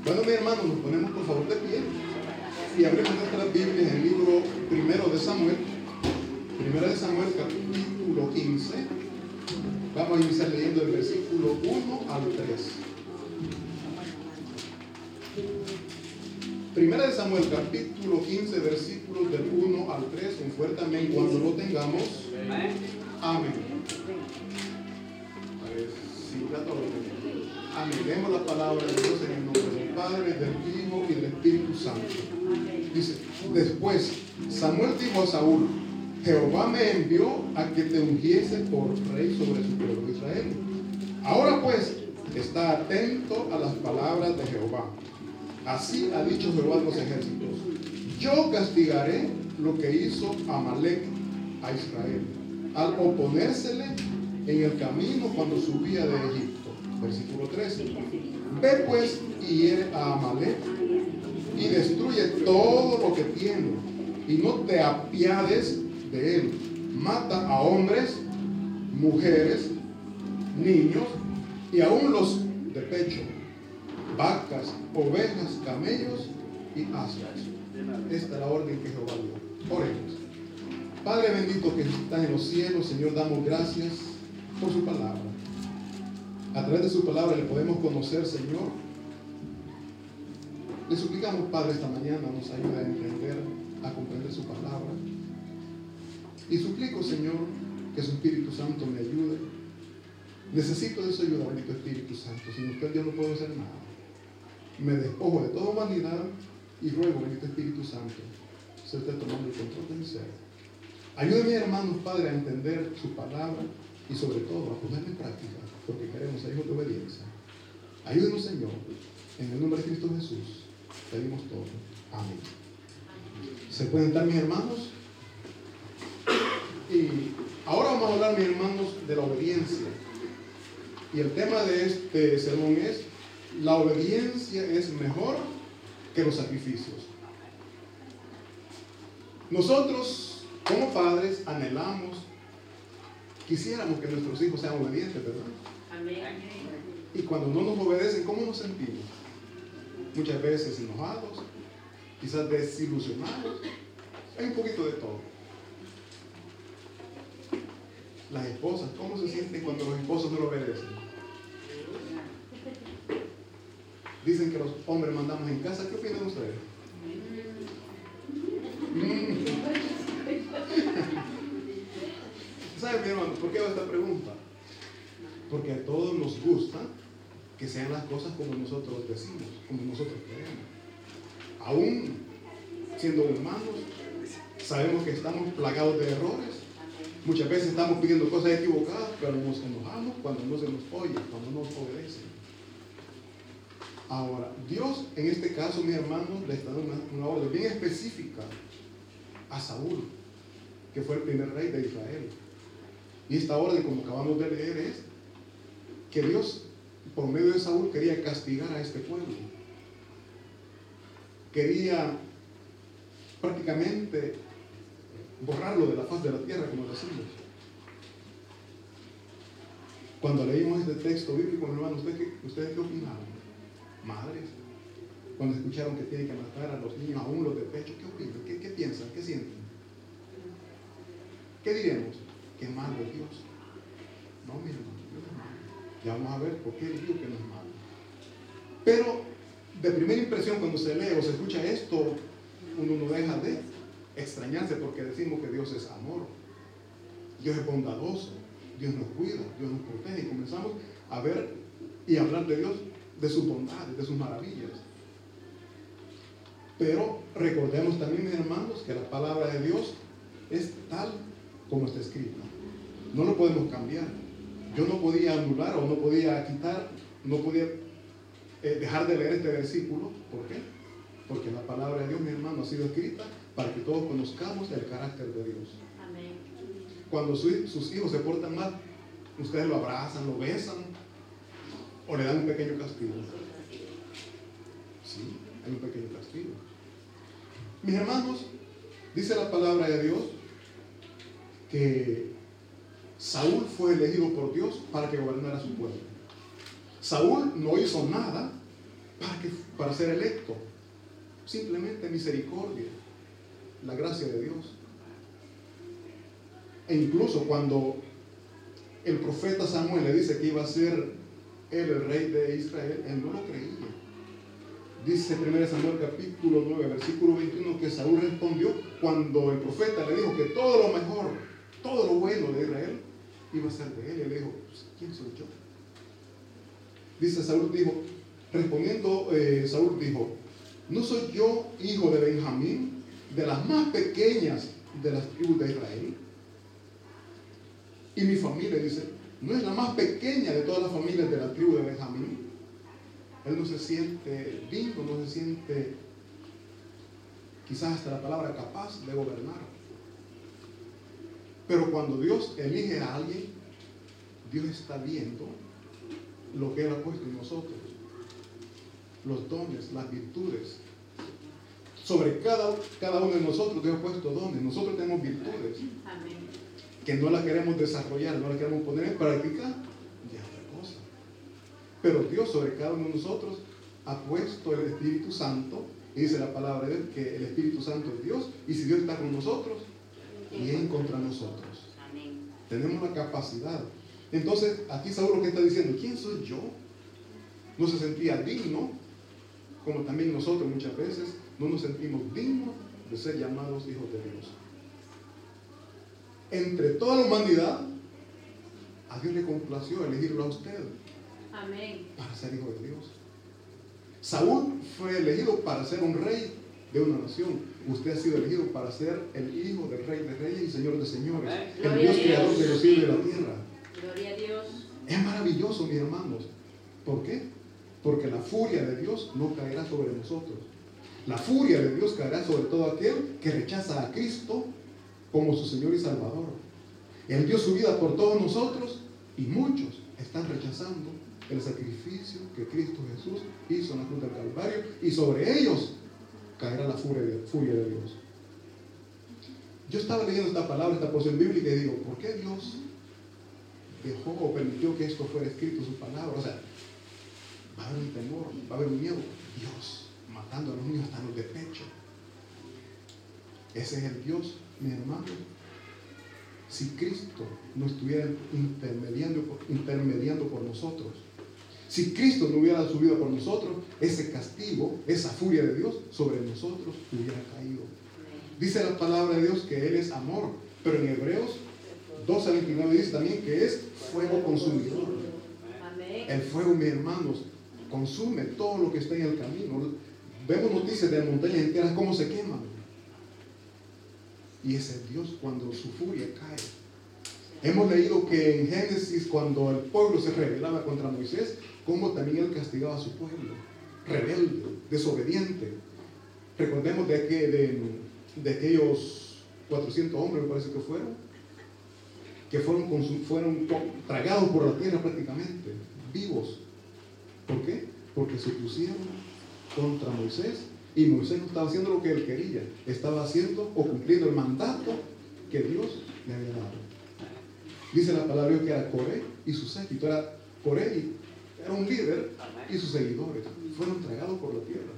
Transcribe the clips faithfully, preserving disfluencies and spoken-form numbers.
Bueno, mi hermano, nos ponemos por favor de pie y abrimos nuestras Biblias en el libro primero de Samuel, primero de Samuel, capítulo quince. Vamos a iniciar leyendo el versículo uno al tres. Primera de Samuel, capítulo quince, versículos del uno al tres. Un fuerte amén cuando lo tengamos. Amén. A ver, si ya todo lo tenemos. Amén. Leemos la palabra de Dios en el nombre del Padre, del Hijo y del Espíritu Santo. Dice: después Samuel dijo a Saúl: Jehová me envió a que te ungiese por rey sobre su pueblo Israel. Ahora pues, está atento a las palabras de Jehová. Así ha dicho Jehová de los ejércitos: yo castigaré lo que hizo Amalec a Israel, al oponérsele en el camino cuando subía de Egipto. Versículo trece. Ve pues y hiere a Amalec y destruye todo lo que tiene, y no te apiades de él. Mata a hombres, mujeres, niños y aún los de pecho, vacas, ovejas, camellos y asnas. Esta es la orden que Jehová dio. Oremos. Padre bendito que estás en los cielos, Señor, damos gracias por su palabra. A través de su palabra le podemos conocer, Señor. Le suplicamos, Padre, esta mañana nos ayude a entender, a comprender su palabra. Y suplico, Señor, que su Espíritu Santo me ayude. Necesito de su ayuda, bendito Espíritu Santo. Sin usted yo no puedo hacer nada. Me despojo de toda humanidad y ruego, bendito Espíritu Santo, se esté tomando el control de mi ser. Ayúdeme, hermanos, Padre, a entender su palabra y sobre todo a ponerla en práctica, porque queremos ser hijos de obediencia. Ayúdenos, Señor, en el nombre de Cristo Jesús. Pedimos todo. Amén. ¿Se pueden dar, mis hermanos? Y ahora vamos a hablar, mis hermanos, de la obediencia. Y el tema de este sermón es: la obediencia es mejor que los sacrificios. Nosotros, como padres, anhelamos, quisiéramos que nuestros hijos sean obedientes, ¿verdad? Amén. Y cuando no nos obedecen, ¿cómo nos sentimos? Muchas veces enojados, quizás desilusionados. Hay un poquito de todo. Las esposas, ¿cómo se sienten cuando los esposos no lo obedecen? Dicen que los hombres mandamos en casa. ¿Qué opinan ustedes? Mm. ¿Saben, mi hermano, por qué hago esta pregunta? Porque a todos nos gusta que sean las cosas como nosotros decimos, como nosotros queremos. Aún siendo humanos, sabemos que estamos plagados de errores. Muchas veces estamos pidiendo cosas equivocadas, pero nos enojamos cuando no se nos oye, cuando no nos obedecen. Ahora, Dios en este caso, mis hermanos, le está dando una, una orden bien específica a Saúl, que fue el primer rey de Israel. Y esta orden, como acabamos de leer, es que Dios, por medio de Saúl, quería castigar a este pueblo. Quería prácticamente borrarlo de la faz de la tierra, como decimos. Cuando leímos este texto bíblico, hermano, ¿ustedes qué, ¿ustedes qué opinaron? Madres, cuando escucharon que tienen que matar a los niños, aún los de pecho, ¿qué opinan? ¿Qué, qué piensan? ¿Qué sienten? ¿Qué diremos? Que malo es Dios. No, mi hermano, Dios es malo. Ya vamos a ver por qué digo que no es malo. Pero de primera impresión, cuando se lee o se escucha esto, uno no deja de extrañarse, porque decimos que Dios es amor, Dios es bondadoso, Dios nos cuida, Dios nos protege, y comenzamos a ver y hablar de Dios, de sus bondades, de sus maravillas. Pero recordemos también, mis hermanos, que la palabra de Dios es tal como está escrita. No lo podemos cambiar. Yo no podía anular o no podía quitar, no podía eh, dejar de leer este versículo. ¿Por qué? Porque la palabra de Dios, mi hermano, ha sido escrita para que todos conozcamos el carácter de Dios. Amén. Cuando su, sus hijos se portan mal, ustedes lo abrazan, lo besan o le dan un pequeño castigo. Sí, hay un pequeño castigo. Mis hermanos, dice la palabra de Dios que Saúl fue elegido por Dios para que gobernara su pueblo. Saúl no hizo nada para que para ser electo. Simplemente misericordia, la gracia de Dios. E incluso cuando el profeta Samuel le dice que iba a ser él el rey de Israel, él no lo creía. Dice primero Samuel capítulo nueve, versículo veintiuno, que Saúl respondió cuando el profeta le dijo que todo lo mejor, todo lo bueno de Israel iba a ser de él. Y él le dijo, ¿quién soy yo? Dice Saúl dijo, respondiendo eh, Saúl dijo, ¿no soy yo hijo de Benjamín, de las más pequeñas de las tribus de Israel? Y mi familia, dice, no es la más pequeña de todas las familias de la tribu de Benjamín. Él no se siente digno, no se siente, quizás hasta la palabra capaz de gobernar. Pero cuando Dios elige a alguien, Dios está viendo lo que Él ha puesto en nosotros, los dones, las virtudes. Sobre cada, cada uno de nosotros Dios ha puesto dones. Nosotros tenemos virtudes. Amén. Que no las queremos desarrollar, no las queremos poner en práctica, ya es otra cosa. Pero Dios sobre cada uno de nosotros ha puesto el Espíritu Santo, y dice la palabra de Dios que el Espíritu Santo es Dios, y si Dios está con nosotros, ¿quién contra nosotros? Amén. Tenemos la capacidad. Entonces, aquí Saúl lo que está diciendo, ¿quién soy yo? No se sentía digno, como también nosotros muchas veces no nos sentimos dignos de ser llamados hijos de Dios. Entre toda la humanidad, a Dios le complació elegirlo a usted. Amén. Para ser hijo de Dios. Saúl fue elegido para ser un rey de una nación. Usted ha sido elegido para ser el hijo del rey de reyes y señor de señores. Amén. El Gloria Dios creador de los cielos y de la tierra. Gloria a Dios. Es maravilloso, mis hermanos. ¿Por qué? Porque la furia de Dios no caerá sobre nosotros. La furia de Dios caerá sobre todo aquel que rechaza a Cristo como su Señor y Salvador. Él dio su vida por todos nosotros y muchos están rechazando el sacrificio que Cristo Jesús hizo en la cruz del Calvario, y sobre ellos caerá la furia de, furia de Dios. Yo estaba leyendo esta palabra, esta porción bíblica, y digo, ¿por qué Dios dejó o permitió que esto fuera escrito, su palabra? O sea, va a haber un temor, va a haber un miedo. Dios matando a los niños hasta los de pecho. Ese es el Dios, mi hermano. Si Cristo no estuviera intermediando, intermediando por nosotros, si Cristo no hubiera subido por nosotros, ese castigo, esa furia de Dios sobre nosotros hubiera caído. Dice la palabra de Dios que Él es amor, pero en Hebreos doce veintinueve dice también que es fuego consumidor. El fuego, mis hermanos, consume todo lo que está en el camino. Vemos noticias de montañas enteras cómo se queman. Y ese es Dios cuando su furia cae. Hemos leído que en Génesis, cuando el pueblo se rebelaba contra Moisés, cómo también Él castigaba a su pueblo, rebelde, desobediente. Recordemos de, que, de, de aquellos cuatrocientos hombres, me parece que fueron, que fueron, fueron tragados por la tierra prácticamente, vivos. ¿Por qué? Porque se pusieron contra Moisés, y Moisés no estaba haciendo lo que él quería, estaba haciendo o cumpliendo el mandato que Dios le había dado. Dice la palabra de Dios que era Coré y su séquito. Era Coré y era un líder, y sus seguidores fueron tragados por la tierra.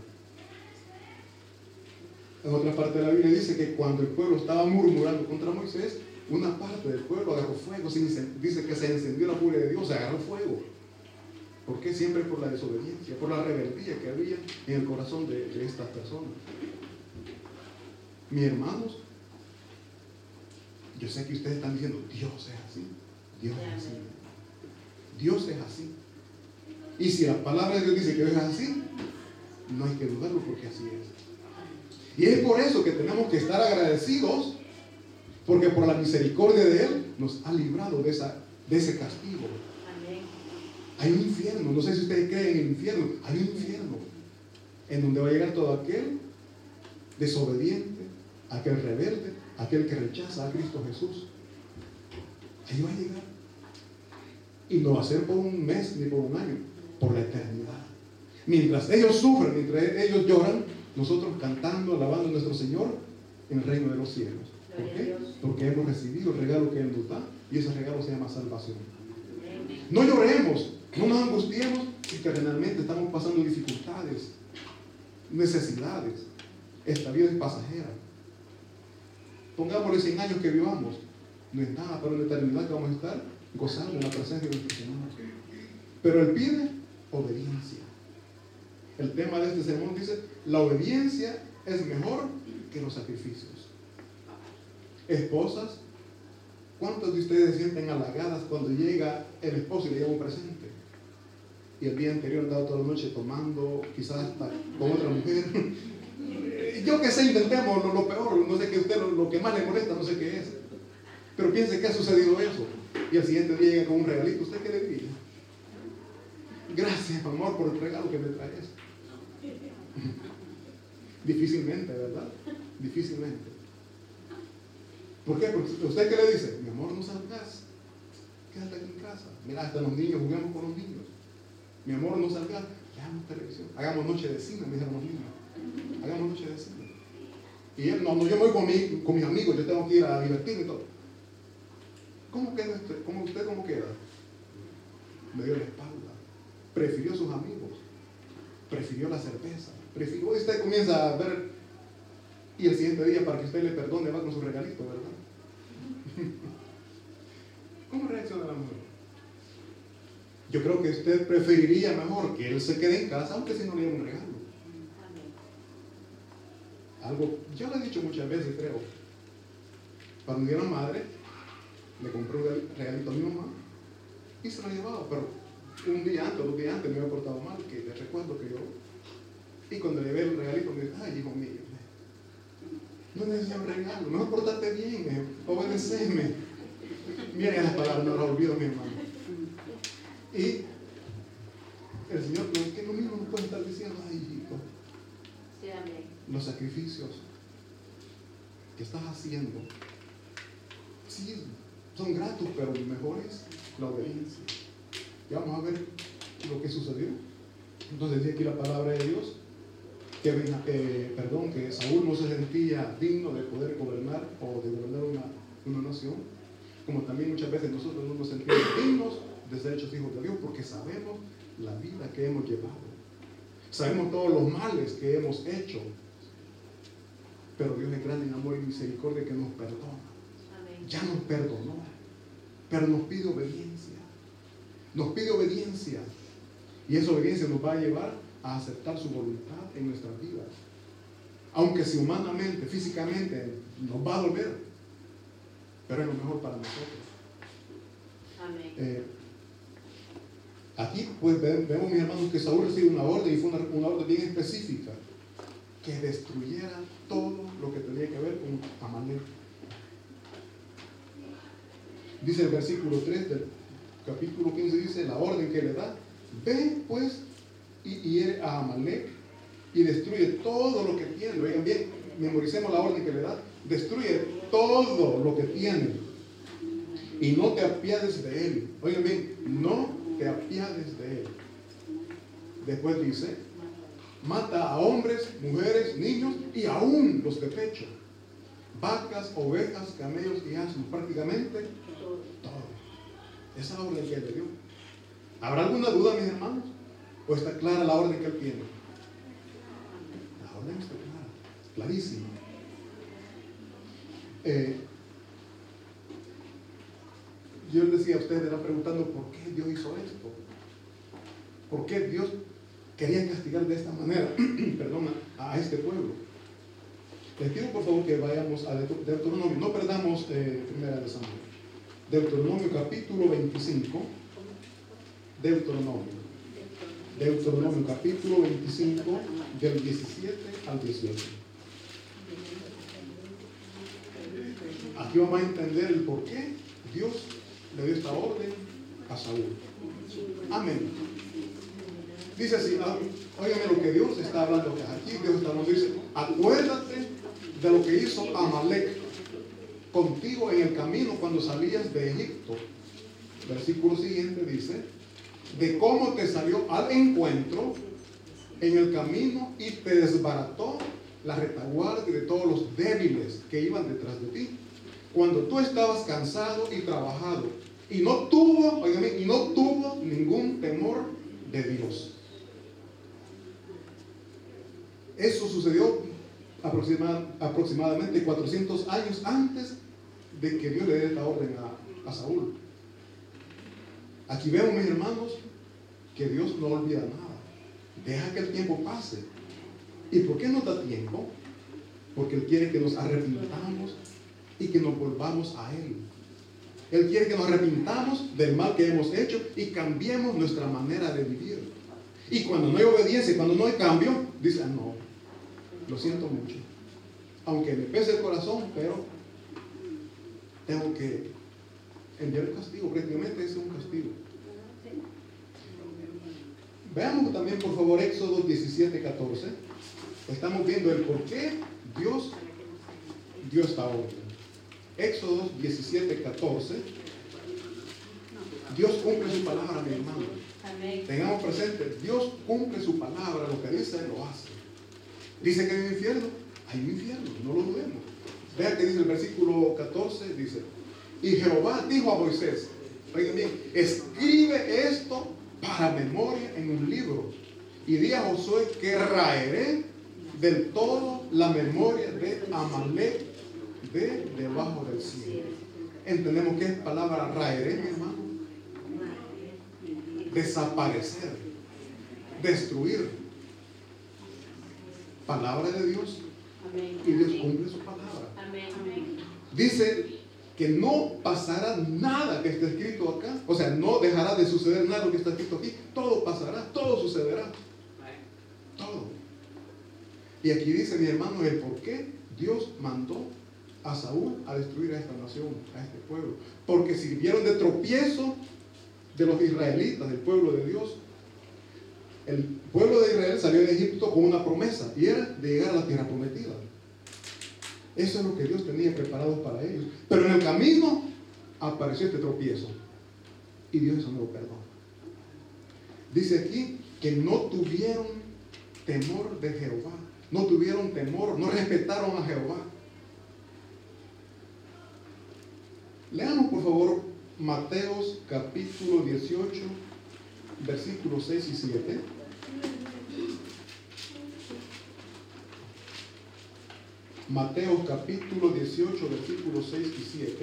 En otra parte de la Biblia dice que cuando el pueblo estaba murmurando contra Moisés, una parte del pueblo agarró fuego. Dice que se encendió la furia de Dios, se agarró fuego. ¿Por qué? Siempre por la desobediencia, por la rebeldía que había en el corazón de, de estas personas. Mis hermanos, yo sé que ustedes están diciendo, Dios es así, Dios es así, Dios es así. Y si la palabra de Dios dice que Dios es así, no hay que dudarlo, porque así es. Y es por eso que tenemos que estar agradecidos, porque por la misericordia de Él nos ha librado de, esa, de ese castigo. Hay un infierno, no sé si ustedes creen en el infierno, hay un infierno en donde va a llegar todo aquel desobediente, aquel rebelde, aquel que rechaza a Cristo Jesús. Ahí va a llegar. Y no va a ser por un mes ni por un año, por la eternidad. Mientras ellos sufren, mientras ellos lloran, nosotros cantando, alabando a nuestro Señor en el reino de los cielos. ¿Por qué? Porque hemos recibido el regalo que Él nos da, y ese regalo se llama salvación. No lloremos, no nos angustiemos si terrenalmente estamos pasando dificultades. necesidades. Esta vida es pasajera. Pongámosle cien años que vivamos, no es nada, pero en la eternidad que vamos a estar gozando en la presencia de nuestro Señor. Pero Él pide obediencia. El tema de este sermón dice: la obediencia es mejor que los sacrificios. Esposas, ¿cuántos de ustedes se sienten halagadas cuando llega el esposo y le lleva un presente? Y el día anterior han dado toda la noche tomando, quizás hasta con otra mujer. Yo que sé, intentemos lo, lo peor, no sé qué usted, lo, lo que más le molesta, no sé qué es. Pero piense que ha sucedido eso. Y al siguiente día llega con un regalito. ¿Usted qué le diría? Gracias, amor, por el regalo que me traes. Difícilmente, ¿verdad? Difícilmente. ¿Por qué? Porque usted qué le dice: mi amor, no salgas, quédate aquí en casa. Mira, hasta los niños, juguemos con los niños. Mi amor, no salgas, veamos televisión. Hagamos noche de cine, me dijeron los niños. Hagamos noche de cine. Y él, no, no, yo me voy con, mi, con mis amigos, yo tengo que ir a divertirme y todo. ¿Cómo queda usted? ¿Cómo usted cómo queda? Me dio la espalda. Prefirió sus amigos. Prefirió la cerveza. Prefirió, y usted comienza a ver, y el siguiente día, para que usted le perdone, va con su regalito, ¿verdad? ¿Cómo reacciona la mujer? Yo creo que usted preferiría mejor que él se quede en casa, aunque si no le diera un regalo. Algo, yo lo he dicho muchas veces, creo. Cuando mi era madre, le compré un regalito a mi mamá y se lo llevaba, pero un día antes, dos días antes me había portado mal, que le recuerdo que yo. Y cuando le ve el regalito, me dice: ay, hijo mío, no necesito un regalo, mejor portate bien, obedeceme. Miren las palabras, no las olvido, mi hermano. Y el Señor, no es que lo mismo no puede estar diciendo: ay, hijito, sí, amén. Los sacrificios que estás haciendo, sí, son gratos, pero lo mejor es la obediencia. Ya vamos a ver lo que sucedió. Entonces dice aquí la palabra de Dios que, eh, perdón, que Saúl no se sentía digno de poder gobernar o de gobernar una, una nación, como también muchas veces nosotros no nos sentimos dignos de ser hechos hijos de Dios, porque sabemos la vida que hemos llevado, sabemos todos los males que hemos hecho, pero Dios es grande en amor y misericordia, que nos perdona. Amén. Ya nos perdonó, pero nos pide obediencia, nos pide obediencia, y esa obediencia nos va a llevar a aceptar su voluntad en nuestras vidas, aunque si humanamente, físicamente nos va a doler, pero es lo mejor para nosotros. Amén. Eh, aquí pues vemos, mis hermanos, que Saúl recibe una orden, y fue una, una orden bien específica, que destruyera todo lo que tenía que ver con Amalek. Dice el versículo tres del capítulo quince, dice la orden que le da: ve pues y hiere a Amalek y destruye todo lo que tiene. Oigan bien, memoricemos la orden que le da: destruye todo lo que tiene y no te apiades de él. Oigan bien, no te apiades de él. Después dice: mata a hombres, mujeres, niños y aún los de pecho, vacas, ovejas, camellos y asnos, prácticamente todo. Esa es la orden que él le dio. ¿Habrá alguna duda, mis hermanos? ¿O está clara la orden que él tiene? La orden está clara, clarísima. Eh, yo les decía a ustedes, me están preguntando por qué Dios hizo esto. ¿Por qué Dios quería castigar de esta manera, perdón, a, a este pueblo? Les pido por favor que vayamos a Deuteronomio, no perdamos eh, primera de Samuel. Deuteronomio capítulo veinticinco. Deuteronomio. Deuteronomio capítulo veinticinco, del diecisiete al dieciocho. Aquí vamos a entender el por qué Dios le dio esta orden a Saúl. Amén. Dice así, óigame lo que Dios está hablando aquí. Dios está hablando, dice: acuérdate de lo que hizo Amalek contigo en el camino cuando salías de Egipto. Versículo siguiente dice: de cómo te salió al encuentro en el camino y te desbarató la retaguardia de todos los débiles que iban detrás de ti, cuando tú estabas cansado y trabajado, y no tuvo, óigame, y no tuvo ningún temor de Dios. Eso sucedió aproxima, aproximadamente cuatrocientos años antes de que Dios le dé esta orden a, a Saúl. Aquí vemos, mis hermanos, que Dios no olvida nada. Deja que el tiempo pase. ¿Y por qué no da tiempo? Porque Él quiere que nos arrepintamos y que nos volvamos a Él. Él quiere que nos arrepintamos del mal que hemos hecho y cambiemos nuestra manera de vivir. Y cuando no hay obediencia, cuando no hay cambio, dice, ah, no, lo siento mucho. Aunque me pese el corazón, pero tengo que enviar el castigo. Prácticamente ese es un castigo. Veamos también, por favor, Éxodo diecisiete, catorce. Estamos viendo el por qué Dios dio esta orden. Éxodo diecisiete, catorce. Dios cumple su palabra, mi hermano. Tengamos presente, Dios cumple su palabra, lo que dice, lo hace. Dice que hay un infierno, hay un infierno, no lo dudemos. Vea que dice el versículo catorce, dice, y Jehová dijo a Moisés, oigan bien, escribe esto para memoria en un libro, y di a Josué que raeré del todo la memoria de Amalek de debajo del cielo. Entendemos que es palabra raeré, mi hermano. Desaparecer, destruir. Palabra de Dios. Y Dios cumple su palabra. Dice que no pasará nada que esté escrito acá. O sea, no dejará de suceder nada lo que está escrito aquí. Todo pasará, todo sucederá. Todo. Y aquí dice, mi hermano, el por qué Dios mandó a Saúl a destruir a esta nación, a este pueblo. Porque sirvieron de tropiezo de los israelitas, del pueblo de Dios. El pueblo de Israel salió de Egipto con una promesa, y era de llegar a la tierra prometida. Eso es lo que Dios tenía preparado para ellos. Pero en el camino apareció este tropiezo, y Dios eso no lo perdonó. Dice aquí que no tuvieron temor de Jehová, no tuvieron temor, no respetaron a Jehová. Leamos por favor Mateos capítulo dieciocho, versículos seis y siete. Mateo capítulo dieciocho, versículos seis y siete.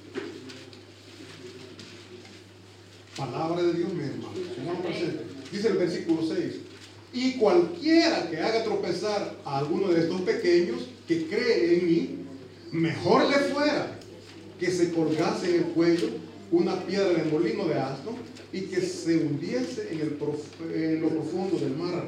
Palabra de Dios, mi hermano. Tengamos presente. Dice el versículo seis. Y cualquiera que haga tropezar a alguno de estos pequeños que cree en mí, mejor le fuera que se colgase en el cuello una piedra de molino de asno y que se hundiese en, el prof, en lo profundo del mar.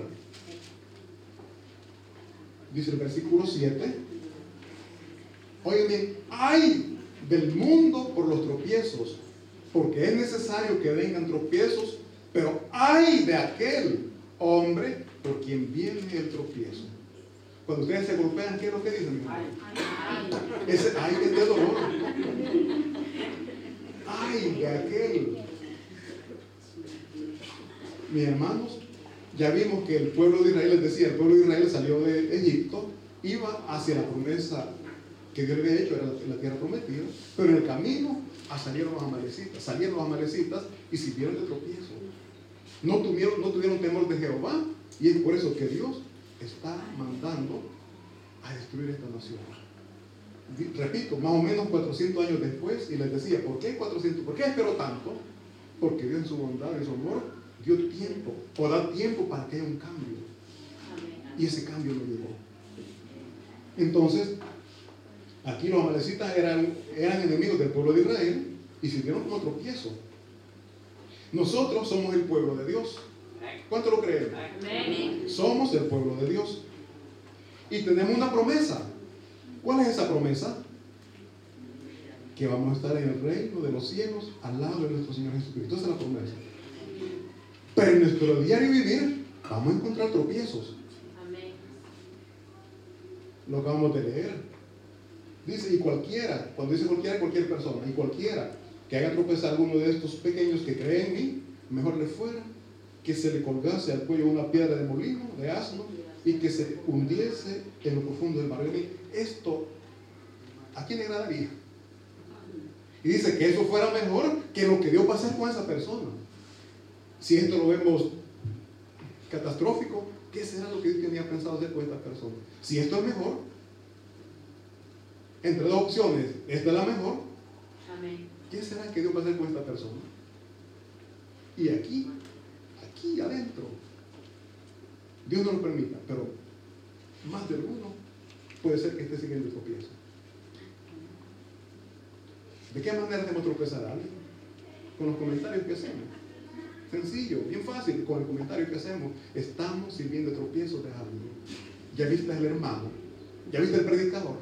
Dice el versículo siete. Oigan bien, ay del mundo por los tropiezos, porque es necesario que vengan tropiezos, pero ay de aquel hombre por quien viene el tropiezo. Cuando ustedes se golpean, ¿qué es lo que dicen, mi hermano? Ese ay es de dolor. Ay de aquel. Mis hermanos, ya vimos que el pueblo de Israel, les decía, el pueblo de Israel salió de Egipto, iba hacia la promesa que Dios le había hecho, era la, la tierra prometida, pero en el camino a salieron los amalecitas, salieron los amalecitas y sirvieron de tropiezo. No tuvieron, no tuvieron temor de Jehová, y es por eso que Dios está mandando a destruir esta nación. Repito, más o menos cuatrocientos años después, y les decía, ¿por qué cuatrocientos? ¿Por qué esperó tanto? Porque Dios en su bondad, en su amor, dio tiempo, o da tiempo para que haya un cambio. Y ese cambio no llegó. Entonces, aquí los amalecitas eran, eran enemigos del pueblo de Israel y sirvieron como tropiezo. Nosotros somos el pueblo de Dios. ¿Cuánto lo creen? Amén. Somos el pueblo de Dios. Y tenemos una promesa. ¿Cuál es esa promesa? Que vamos a estar en el reino de los cielos al lado de nuestro Señor Jesucristo. Esa es la promesa. Pero en nuestro diario vivir vamos a encontrar tropiezos. Amén. Lo acabamos de leer. Dice, y cualquiera, cuando dice cualquiera, cualquier persona, y cualquiera que haga tropezar a alguno de estos pequeños que creen en mí, mejor le fuera que se le colgase al cuello una piedra de molino, de asno, y que se hundiese en lo profundo del mar. Esto, ¿a quién le agradaría? Y dice que eso fuera mejor que lo que dio pasar con esa persona. Si esto lo vemos catastrófico, ¿qué será lo que Dios tenía pensado hacer con esta persona? Si esto es mejor, entre dos opciones, esta es la mejor, Amén. ¿qué será que Dios va a hacer con esta persona? Y aquí, aquí adentro, Dios no lo permita, pero más de alguno puede ser que esté siguiendo el tropiezo. ¿De qué manera hacemos tropezar a alguien? Con los comentarios que hacemos. Sencillo, bien fácil, con el comentario que hacemos, estamos sirviendo de tropiezo de alguien. ¿Ya viste al hermano? ¿Ya viste el predicador?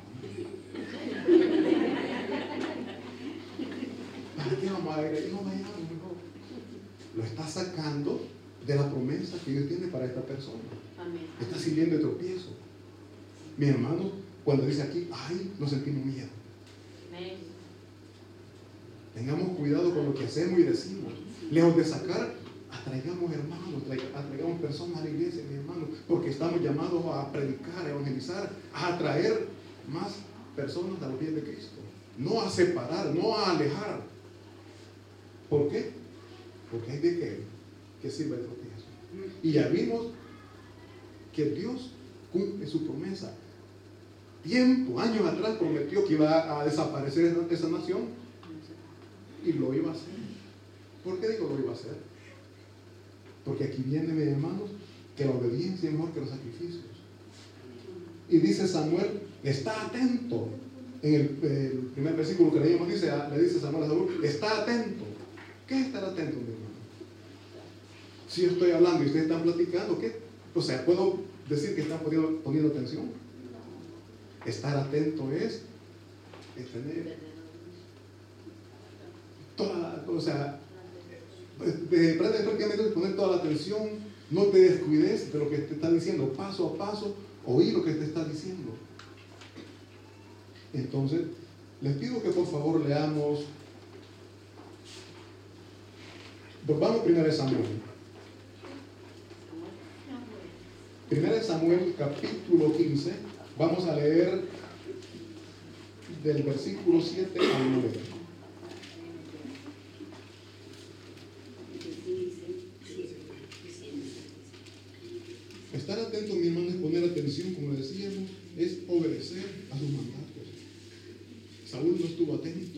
¿Para qué vamos a ir ahí? No vayamos mejor. Lo está sacando de la promesa que Dios tiene para esta persona. Amén. Está sirviendo de tropiezo. Mi hermano, cuando dice aquí, ay, nos sentimos miedo. Amén. Tengamos cuidado con lo que hacemos y decimos. Lejos de sacar, atraigamos hermanos, atraigamos personas a la iglesia, mi hermano, porque estamos llamados a predicar, a evangelizar, a atraer más personas a los pies de Cristo. No a separar, no a alejar. ¿Por qué? Porque hay de que, que sirva de tropiezo. Y ya vimos que Dios cumple su promesa. Tiempo, años atrás prometió que iba a desaparecer esa nación. Y lo iba a hacer. ¿Por qué digo lo iba a hacer? Porque aquí viene, mis hermanos, que la obediencia es mejor que los sacrificios. Y dice Samuel, está atento. En el, el primer versículo que leímos dice, le dice Samuel a Saúl, está atento. ¿Qué es estar atento, mi hermano? Si yo estoy hablando y ustedes están platicando, ¿qué? O sea, ¿puedo decir que están poniendo, poniendo atención? Estar atento es, es tener toda, o sea, de, prácticamente poner toda la atención, no te descuides de lo que te está diciendo, paso a paso, oí lo que te está diciendo. Entonces, les pido que por favor leamos, volvamos primero a Samuel. Primero Samuel capítulo quince, vamos a leer del versículo siete al nueve. Estar atento, mi hermano, es poner atención, como decíamos, es obedecer a sus mandatos. Saúl no estuvo atento.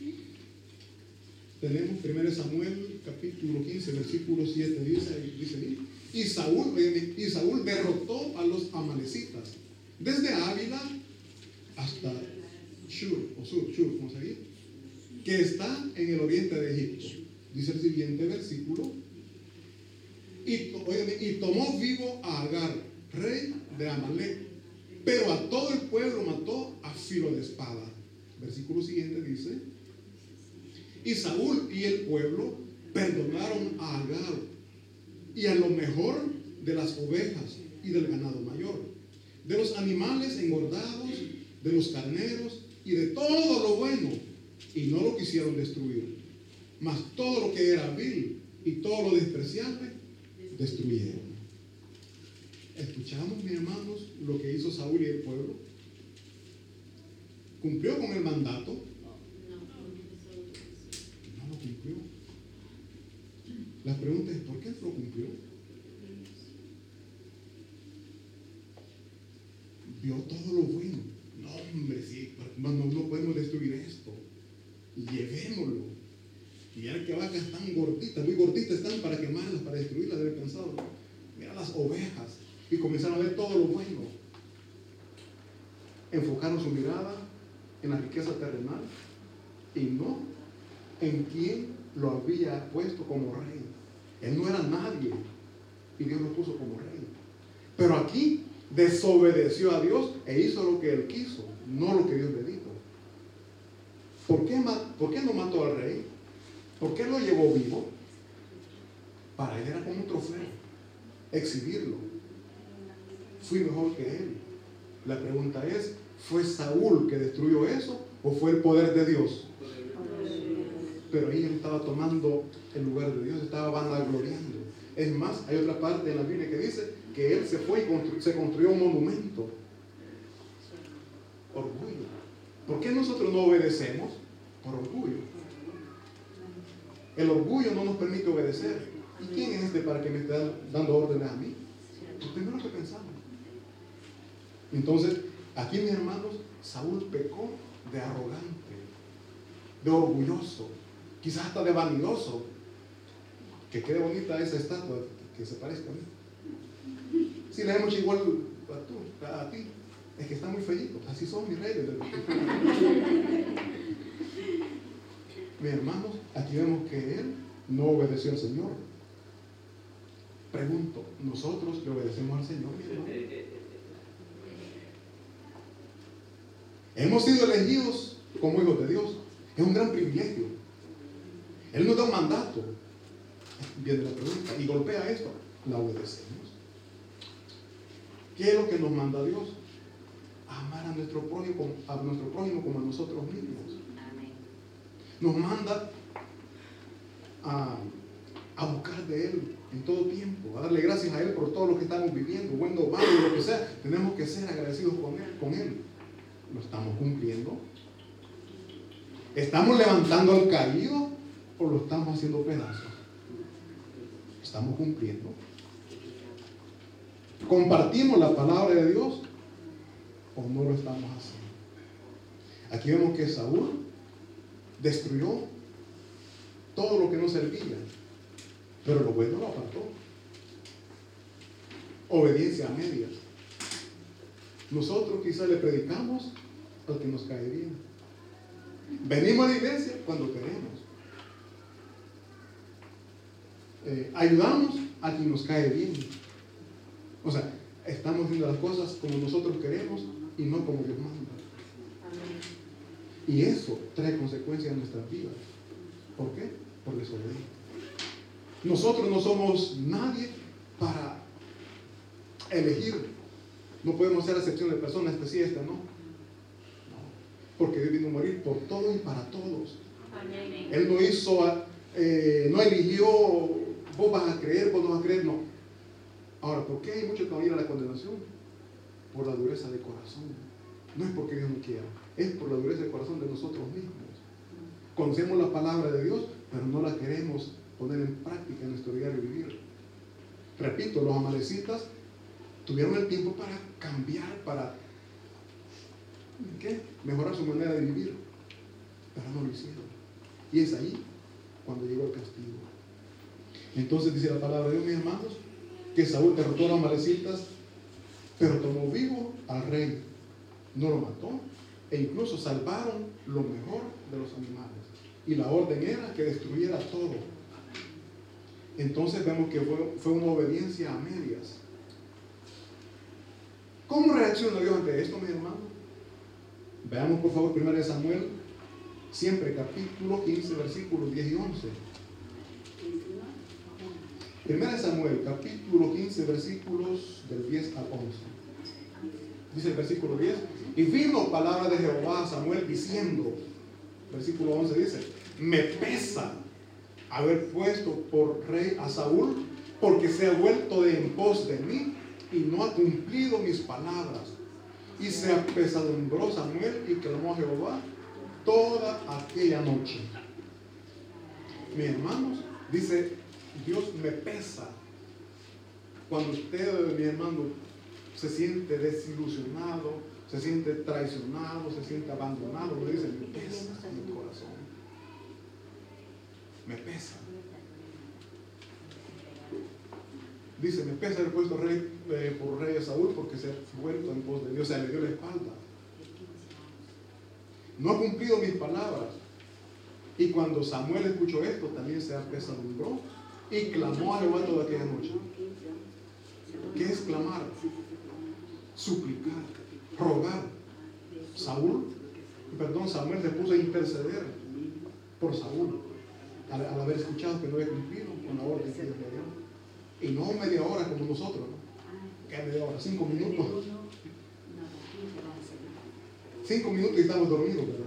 Tenemos primero Samuel capítulo quince, versículo siete, dice, dice y Saúl, y Saúl derrotó a los amalecitas desde Ávila hasta Shur, o Sur, Shur, ¿cómo se dice? Que está en el oriente de Egipto. Dice el siguiente versículo. Y, oye, y tomó vivo a Agar, rey de Amalek, pero a todo el pueblo mató a filo de espada. Versículo siguiente dice, y Saúl y el pueblo perdonaron a Agar y a lo mejor de las ovejas y del ganado mayor, de los animales engordados, de los carneros y de todo lo bueno, y no lo quisieron destruir, mas todo lo que era vil y todo lo despreciable destruyeron. ¿Escuchamos, mis hermanos, lo que hizo Saúl y el pueblo? ¿Cumplió con el mandato? No lo cumplió. La pregunta es, ¿por qué lo cumplió? Vio todo lo bueno. No, hombre, sí, no, no podemos destruir esto. Llevémoslo. Y ya que vacas tan gorditas, muy gorditas están para quemarlas, para destruirlas, debe haber pensado. Mira las ovejas. Y comenzaron a ver todo lo bueno. Enfocaron su mirada en la riqueza terrenal y no en quien lo había puesto como rey. Él no era nadie y Dios lo puso como rey. Pero aquí desobedeció a Dios e hizo lo que él quiso, no lo que Dios le dijo. ¿Por qué, ¿Por qué no mató al rey? ¿Por qué lo llevó vivo? Para él era como un trofeo, exhibirlo. Fui mejor que él. La pregunta es, ¿fue Saúl que destruyó eso o fue el poder de Dios? Pero ahí él estaba tomando el lugar de Dios, estaba vanagloriando. Es más, hay otra parte en la Biblia que dice que él se fue y constru- se construyó un monumento. Orgullo. ¿Por qué nosotros no obedecemos? Por orgullo. El orgullo no nos permite obedecer. ¿Y quién es este para que me esté dando órdenes a mí? Lo primero que pensamos. Entonces, aquí, mis hermanos, Saúl pecó de arrogante, de orgulloso, quizás hasta de vanidoso. Que quede bonita esa estatua, que se parezca a mí. Si le hemos hecho igual a, tú, a ti, es que está muy feíto. Así son mis reyes. Mis hermanos, aquí vemos que él no obedeció al Señor. Pregunto, ¿nosotros le obedecemos al Señor, mi hermano? Hemos sido elegidos como hijos de Dios. Es un gran privilegio. Él nos da un mandato. Viene la pregunta, y golpea esto. ¿La obedecemos? ¿Qué es lo que nos manda Dios? Amar a nuestro prójimo, a nuestro prójimo como a nosotros mismos. Nos manda a, a buscar de Él en todo tiempo, a darle gracias a Él por todo lo que estamos viviendo, bueno, malo, lo que sea. Tenemos que ser agradecidos con Él, con Él. ¿Lo estamos cumpliendo? ¿Estamos levantando al caído o lo estamos haciendo pedazos? ¿Estamos cumpliendo? ¿Compartimos la palabra de Dios o no lo estamos haciendo? Aquí vemos que Saúl destruyó todo lo que no servía, pero lo bueno lo apartó. Obediencia a medias. Nosotros quizás le predicamos al que nos cae bien. Venimos a la iglesia cuando queremos. Eh, ayudamos a quien nos cae bien. O sea, estamos haciendo las cosas como nosotros queremos y no como Dios manda. Y eso trae consecuencias en nuestras vidas. ¿Por qué? Por desobediencia. Nosotros no somos nadie para elegir. No podemos hacer acepción de personas, esta sí, esta no. No. Porque Dios vino a morir por todos y para todos. Él no hizo, eh, no eligió, vos vas a creer, vos no vas a creer, no. Ahora, ¿por qué hay muchos que van a ir a la condenación? Por la dureza de corazón. No es porque Dios no quiera, es por la dureza de corazón de nosotros mismos. Conocemos la palabra de Dios, pero no la queremos poner en práctica en nuestro diario vivir. Repito, los amalecitas tuvieron el tiempo para cambiar, para ¿qué? mejorar su manera de vivir, pero no lo hicieron. Y es ahí cuando llegó el castigo. Entonces dice la palabra de Dios, mis hermanos, que Saúl derrotó a los amalecitas, pero tomó vivo al rey, no lo mató, e incluso salvaron lo mejor de los animales. Y la orden era que destruyera todo. Entonces vemos que fue, fue una obediencia a medias. ¿Cómo reacciona Dios ante esto, mis hermanos? Veamos por favor primero de Samuel, siempre capítulo quince, versículos diez y once. Primera de Samuel, capítulo quince, versículos del diez al once. Dice el versículo diez: y vino palabra de Jehová a Samuel diciendo, versículo once dice: me pesa haber puesto por rey a Saúl, porque se ha vuelto de en pos de mí y no ha cumplido mis palabras. Y se apesadumbró Samuel y clamó a Jehová toda aquella noche. Mis hermanos, dice Dios, me pesa. Cuando usted, mi hermano, se siente desilusionado, se siente traicionado, se siente abandonado, le dice, me pesa en mi corazón. Me pesa. Dice, me pesa haber puesto rey, eh, por rey a Saúl, porque se ha vuelto en pos de Dios, o sea, le dio la espalda. No ha cumplido mis palabras. Y cuando Samuel escuchó esto, también se apesadumbró y clamó a Jehová toda aquella noche. ¿Qué es clamar? Suplicar, rogar. Saúl, perdón, Samuel se puso a interceder por Saúl, al, al haber escuchado que no había cumplido con la orden que Dios le dio. Y no media hora como nosotros, ¿no? ¿Qué media hora? Cinco minutos. Cinco minutos y estamos dormidos, ¿verdad?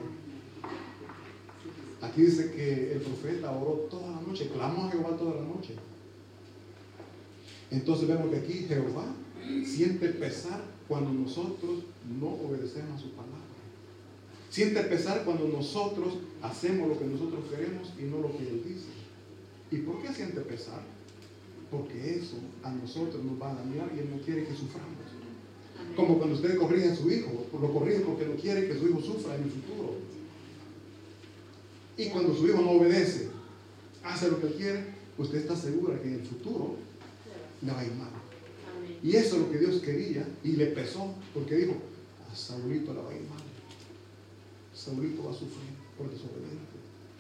Aquí dice que el profeta oró toda la noche, clamó a Jehová toda la noche. Entonces vemos que aquí Jehová siente pesar cuando nosotros no obedecemos a su palabra. Siente pesar cuando nosotros hacemos lo que nosotros queremos y no lo que Él dice. ¿Y por qué siente pesar? porque eso a nosotros nos va a dañar y Él no quiere que suframos. Amén. Como cuando usted corrige a su hijo, lo corrige porque no quiere que su hijo sufra en el futuro. Y cuando su hijo no obedece, hace lo que él quiere, usted está segura que en el futuro le va a ir mal. Amén. Y eso es lo que Dios quería y le pesó, porque dijo, a Saulito le va a ir mal. Saulito va a sufrir por desobediente.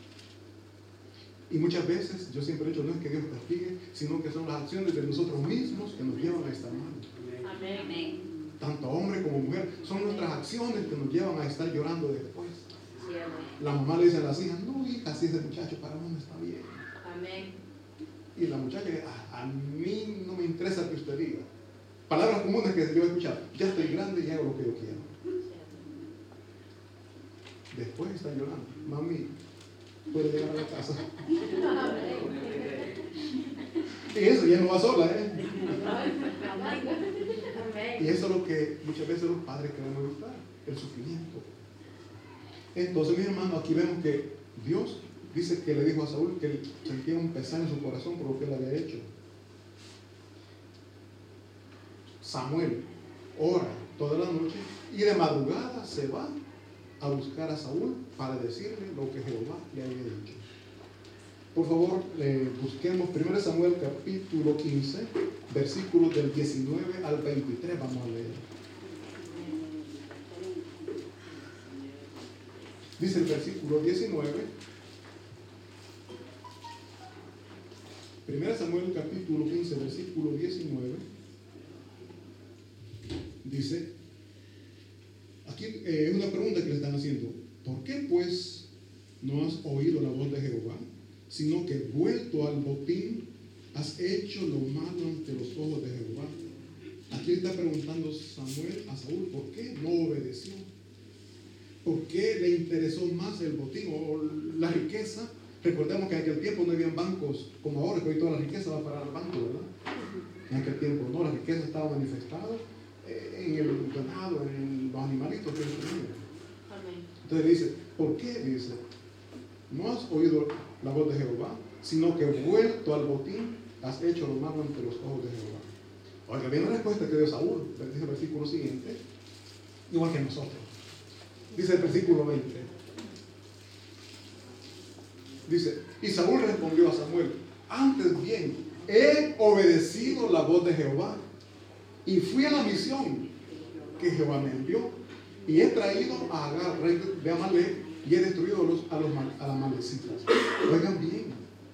Y muchas veces, yo siempre he dicho, no es que Dios castigue, sino que son las acciones de nosotros mismos que nos llevan a estar mal. Amén. Amén. Tanto hombre como mujer, son nuestras acciones que nos llevan a estar llorando después. Sí, amén. La mamá le dice a las hijas, no hija, si ese muchacho para uno está bien. Amén. Y la muchacha, a, a mí no me interesa que usted diga. Palabras comunes que yo he escuchado, ya estoy grande y hago lo que yo quiero. Después está llorando, mami, puede llegar a la casa. Y eso ya no va sola, ¿eh? Y eso es lo que muchas veces los padres queremos evitar, el sufrimiento. Entonces, mis hermanos, aquí vemos que Dios dice que le dijo a Saúl que él sentía un pesar en su corazón por lo que él había hecho. Samuel ora toda la noche y de madrugada se va a buscar a Saúl para decirle lo que Jehová le había dicho. Por favor, eh, busquemos primero Samuel capítulo quince, versículos del diecinueve al veintitrés, vamos a leer. Dice el versículo diecinueve, primero Samuel capítulo quince, versículo diecinueve, dice, aquí es eh, una pregunta que le están haciendo, ¿por qué pues no has oído la voz de Jehová, sino que vuelto al botín has hecho lo malo ante los ojos de Jehová? Aquí está preguntando Samuel a Saúl, ¿por qué no obedeció? ¿Por qué le interesó más el botín o la riqueza? Recordemos que en aquel tiempo no habían bancos como ahora, que hoy toda la riqueza va para el banco, ¿verdad? En aquel tiempo no, la riqueza estaba manifestada en el ganado, en los animalitos que ellos tenían. Entonces dice, ¿por qué? Dice, no has oído la voz de Jehová, sino que vuelto al botín has hecho lo malo ante los ojos de Jehová. Oiga, viene la respuesta que dio Saúl, dice el versículo siguiente, igual que nosotros. Dice el versículo veinte. Dice, y Saúl respondió a Samuel, antes bien, he obedecido la voz de Jehová y fui a la misión que Jehová me envió y he traído a Agar, rey de Amalek, y he destruido a los, a los a las amalecitas. Oigan bien,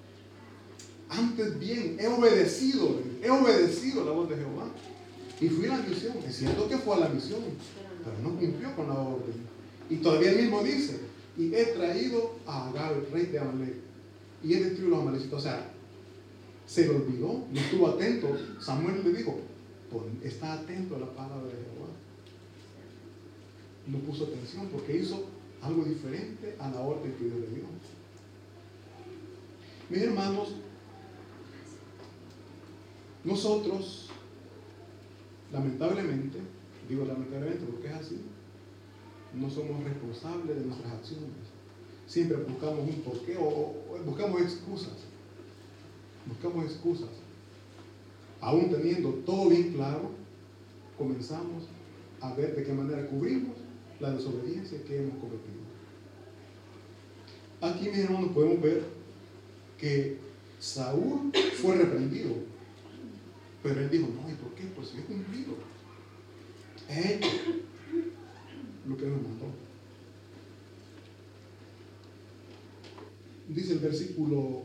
antes bien, he obedecido, he obedecido la voz de Jehová y fui a la misión. Es cierto que fue a la misión, pero no cumplió con la orden. Y todavía él mismo dice, y he traído a Agar, rey de Amalek, y he destruido a los amalecitas. O sea, se le olvidó, no estuvo atento. Samuel le dijo, está atento a la palabra de Jehová. No puso atención porque hizo algo diferente a la orden que Dios le dio. Mis hermanos, nosotros, lamentablemente, digo lamentablemente porque es así, no somos responsables de nuestras acciones. Siempre buscamos un porqué o, o buscamos excusas. Buscamos excusas. Aún teniendo todo bien claro, comenzamos a ver de qué manera cubrimos la desobediencia que hemos cometido. Aquí, mis hermanos, podemos ver que Saúl fue reprendido, pero él dijo, no, ¿y por qué? Pues yo he cumplido, he hecho lo que me mandó. Dice el versículo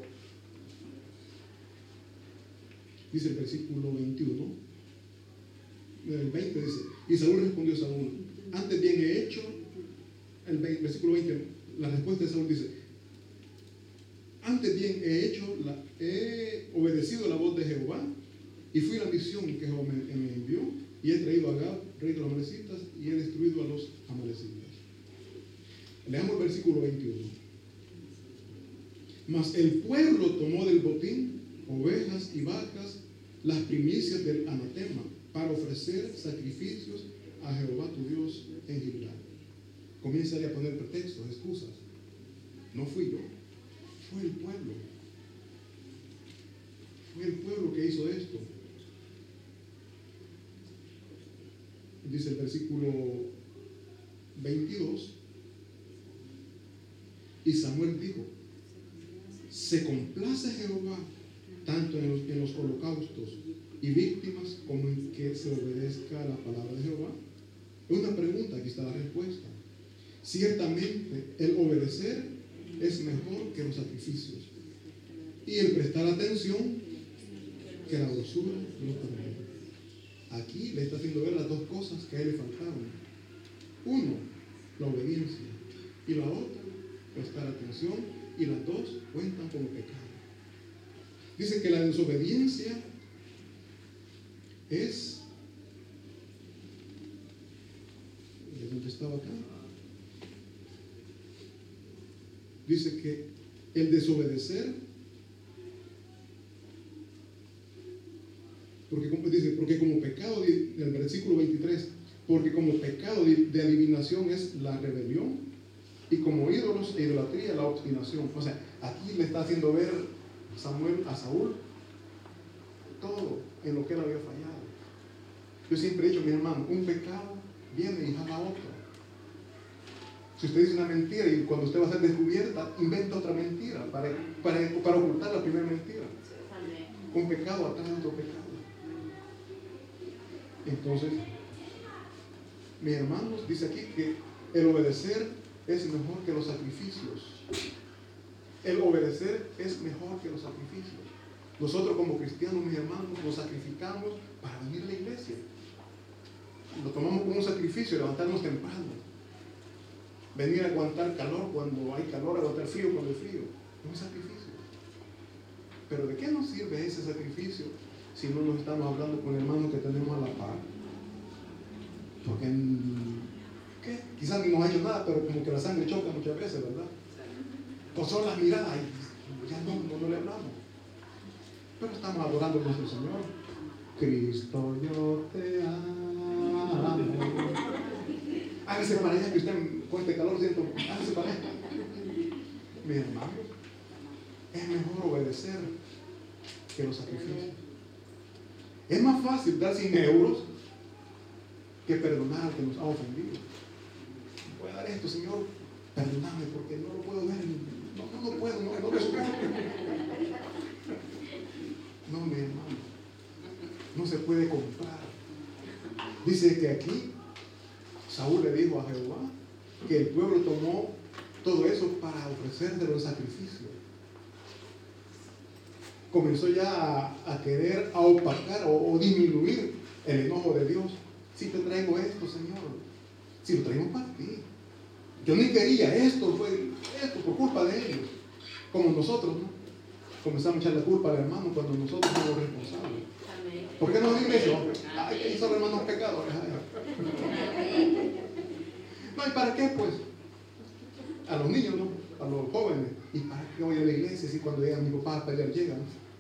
dice el versículo veintiuno, el veinte dice, y Saúl respondió a Saúl, antes bien he hecho, el versículo veinte, la respuesta de Saúl dice, antes bien he hecho, la, he obedecido la voz de Jehová y fui a la misión que Jehová me, me envió y he traído a Agar, rey de los amalecitas, y he destruido a los amalecitas. Leamos el versículo veintiuno. Mas el pueblo tomó del botín ovejas y vacas, las primicias del anatema, para ofrecer sacrificios a Jehová tu Dios en Gilgal. Comienza a poner pretextos, excusas. No fui yo, fue el pueblo. Fue el pueblo que hizo esto. Dice el versículo veintidós. Y Samuel dijo: se complace Jehová tanto en los, en los holocaustos y víctimas como en que se obedezca a la palabra de Jehová. Es una pregunta, aquí está la respuesta. Ciertamente el obedecer es mejor que los sacrificios, y el prestar atención que la dulzura de los términos. Aquí le está haciendo ver las dos cosas que a él le faltaban. Uno, la obediencia, y la otra, prestar atención, y las dos cuentan como pecado. Dice que la desobediencia es, ¿de dónde estaba acá? Dice que el desobedecer, porque como dice, porque como pecado, en el versículo veintitrés, porque como pecado de, de adivinación es la rebelión, y como ídolos e idolatría la obstinación. O sea, aquí le está haciendo ver Samuel a Saúl todo en lo que él había fallado. Yo siempre he dicho, mi hermano, un pecado viene y jala otro. Si usted dice una mentira y cuando usted va a ser descubierta, inventa otra mentira para, para, para ocultar la primera mentira. Un pecado atrás de otro pecado. Entonces, mis hermanos, dice aquí que el obedecer es mejor que los sacrificios. El obedecer es mejor que los sacrificios. Nosotros como cristianos, mis hermanos, nos sacrificamos para venir a la iglesia. Lo tomamos como un sacrificio, levantarnos temprano. Venir a aguantar calor cuando hay calor, aguantar frío cuando hay frío. Es un sacrificio. Pero ¿de qué nos sirve ese sacrificio si no nos estamos hablando con hermanos que tenemos a la par? Porque ¿qué? Quizás ni nos ha hecho nada, pero como que la sangre choca muchas veces, ¿verdad? O son las miradas, ay, ya no, no, no le hablamos. Pero estamos adorando a nuestro Señor. Cristo, yo te amo. Hágase para allá, que usted con este calor siento, hágase para allá. Mis hermanos, es mejor obedecer que los sacrificios. Es más fácil dar cien euros que perdonar al que nos ha ofendido. Voy a dar esto, Señor, perdóname porque no lo puedo ver. No, no lo puedo, no, no lo soporto. No, mi hermano, no se puede comprar. Dice que aquí Saúl le dijo a Jehová que el pueblo tomó todo eso para ofrecerle los sacrificios. Comenzó ya a, a querer a opacar o, o disminuir el enojo de Dios. Si te traigo esto, Señor, si lo traemos para ti. Yo ni quería esto, fue esto por culpa de ellos. Como nosotros, ¿no? Comenzamos a echar la culpa al hermano cuando nosotros somos responsables. ¿Por qué no dime eso? Ay, que hizo el hermano pecadores. No, ¿y para qué pues? A los niños, ¿no? A los jóvenes. ¿Y para qué voy a la iglesia si cuando llegan mis papás a pelear llegan?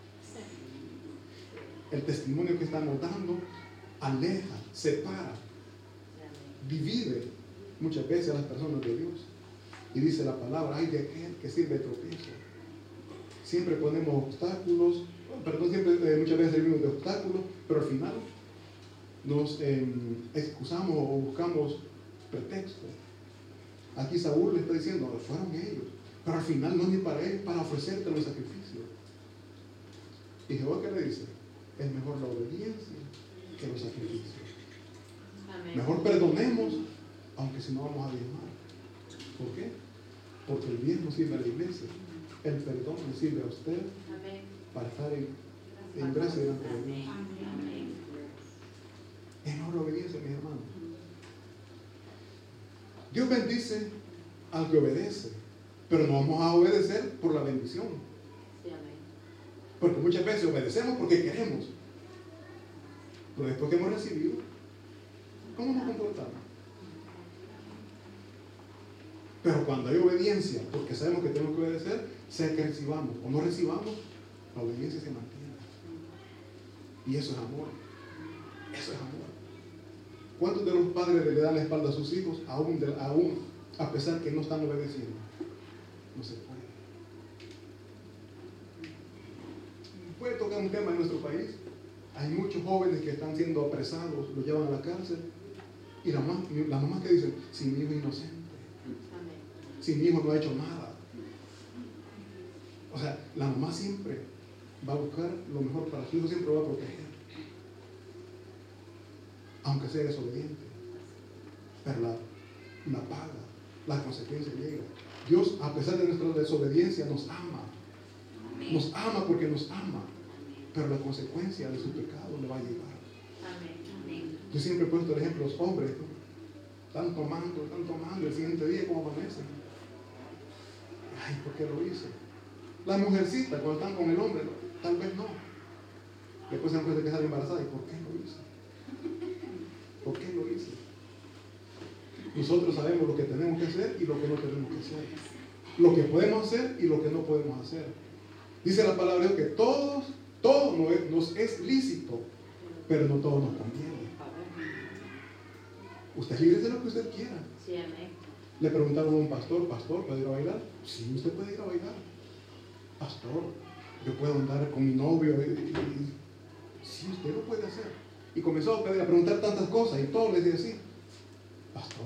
El testimonio que estamos dando aleja, separa, divide muchas veces a las personas de Dios. Y dice la palabra, ay de aquel que sirve de tropiezo. Siempre ponemos obstáculos, perdón, siempre eh, muchas veces servimos de obstáculos, pero al final nos eh, excusamos o buscamos pretextos. Aquí Saúl le está diciendo, fueron ellos, pero al final no es ni para él, para ofrecerte los sacrificios. Y Jehová, ¿qué le dice? Es mejor la obediencia que los sacrificios. Amén. Mejor perdonemos, aunque si no vamos a diezmar. ¿Por qué? Porque el bien no sirve a la iglesia. El perdón le sirve a usted. Amén. Para estar en, en gracia delante de Dios. Amén. Es mejor la obediencia, mis hermanos. Dios bendice al que obedece, pero no vamos a obedecer por la bendición. Sí, amén. Porque muchas veces obedecemos porque queremos, pero después que hemos recibido, ¿cómo nos comportamos? Pero cuando hay obediencia, porque sabemos que tenemos que obedecer, sea que recibamos o no recibamos, la obediencia se mantiene. Y eso es amor. Eso es amor. ¿Cuántos de los padres le dan la espalda a sus hijos, aún, de, aún a pesar que no están obedeciendo? No se puede. Puede tocar un tema en nuestro país. Hay muchos jóvenes que están siendo apresados, los llevan a la cárcel. Y las mamás la mamá que dicen, si mi hijo es inocente, Amén. si mi hijo no ha hecho nada. O sea, la mamá siempre va a buscar lo mejor para su hijo, siempre va a proteger. Aunque sea desobediente. Pero la, la paga, la consecuencia llega. Dios, a pesar de nuestra desobediencia, nos ama. Amén. Nos ama porque nos ama. Pero la consecuencia de su pecado le va a llegar. Amén. Amén. Yo siempre he puesto el ejemplo, los hombres, ¿no? Están tomando, están tomando, el siguiente día como amanecen. Ay, ¿por qué lo hice? Las mujercitas, cuando están con el hombre, ¿no? Tal vez no. Después se dan cuenta que sale embarazada. ¿Y por qué lo hice? ¿Por qué lo hice? Nosotros sabemos lo que tenemos que hacer y lo que no tenemos que hacer. Lo que podemos hacer y lo que no podemos hacer. Dice la palabra de Dios que todos, todo nos es, nos es lícito, pero no todo nos conviene. Usted es libre de lo que usted quiera. Sí, amén. Le preguntaron a un pastor, pastor, ¿puede ir a bailar? Sí, usted puede ir a bailar. Pastor, yo puedo andar con mi novio. Y, y, y, sí, usted lo puede hacer. Y comenzó a, pedir, a preguntar tantas cosas y todo le decía así. Pastor,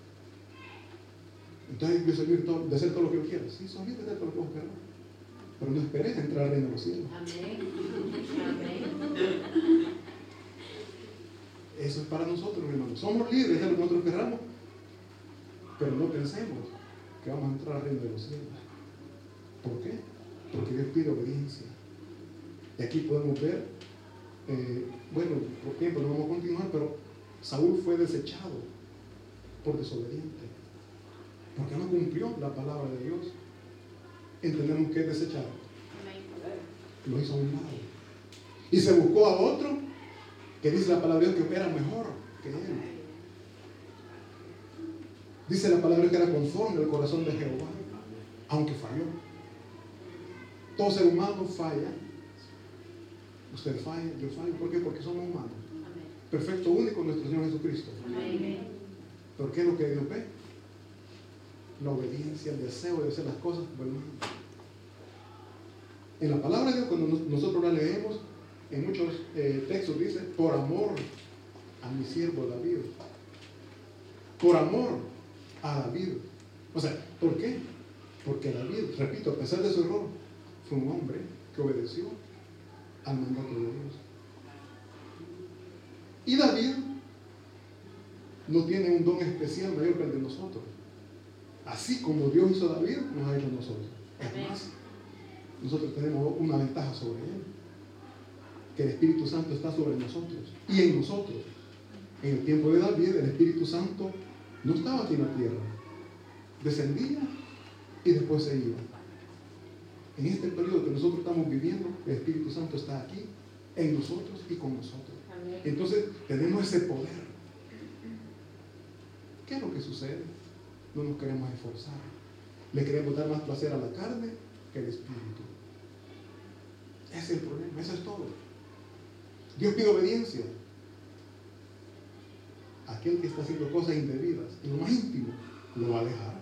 entonces yo soy libre de hacer todo lo que yo quiera. Sí, soy libre de hacer todo lo que yo quiera. Pero no esperes entrar al reino de los cielos. Amén. Amén. Eso es para nosotros, hermanos. Somos libres de hacer lo que nosotros queramos, pero no pensemos que vamos a entrar al reino de los cielos. ¿Por qué? Porque Dios pide obediencia. Y aquí podemos ver, eh, bueno, por tiempo no vamos a continuar, pero Saúl fue desechado por desobediente, porque no cumplió la palabra de Dios. Entendemos que es desechado. Lo hizo a un lado. Y se buscó a otro que dice la palabra de Dios que era mejor que él. Dice la palabra que era conforme al corazón de Jehová, aunque falló. Todo ser humano falla. Usted falla, yo fallo. ¿Por qué? Porque somos humanos. Perfecto, único, nuestro Señor Jesucristo. Amén. ¿Pero qué es lo que Dios ve? La obediencia, el deseo de hacer las cosas por el mundo. En la palabra de Dios, cuando nosotros la leemos, en muchos eh, textos dice, por amor a mi siervo David. Por amor a David. O sea, ¿por qué? Porque David, repito, a pesar de su error, fue un hombre que obedeció al mandato de Dios. Y David no tiene un don especial mayor que el de nosotros. Así como Dios hizo a David, nos ha hecho a nosotros. Es más, nosotros tenemos una ventaja sobre él, que el Espíritu Santo está sobre nosotros y en nosotros. En el tiempo de David, el Espíritu Santo no estaba aquí en la tierra, descendía y después se iba. En este periodo que nosotros estamos viviendo, el Espíritu Santo está aquí, en nosotros y con nosotros. Amén. Entonces tenemos ese poder. ¿Qué es lo que sucede? No nos queremos esforzar. Le queremos dar más placer a la carne que al Espíritu. Ese es el problema, eso es todo. Dios pide obediencia. Aquel que está haciendo cosas indebidas, en lo más íntimo, lo va a dejar.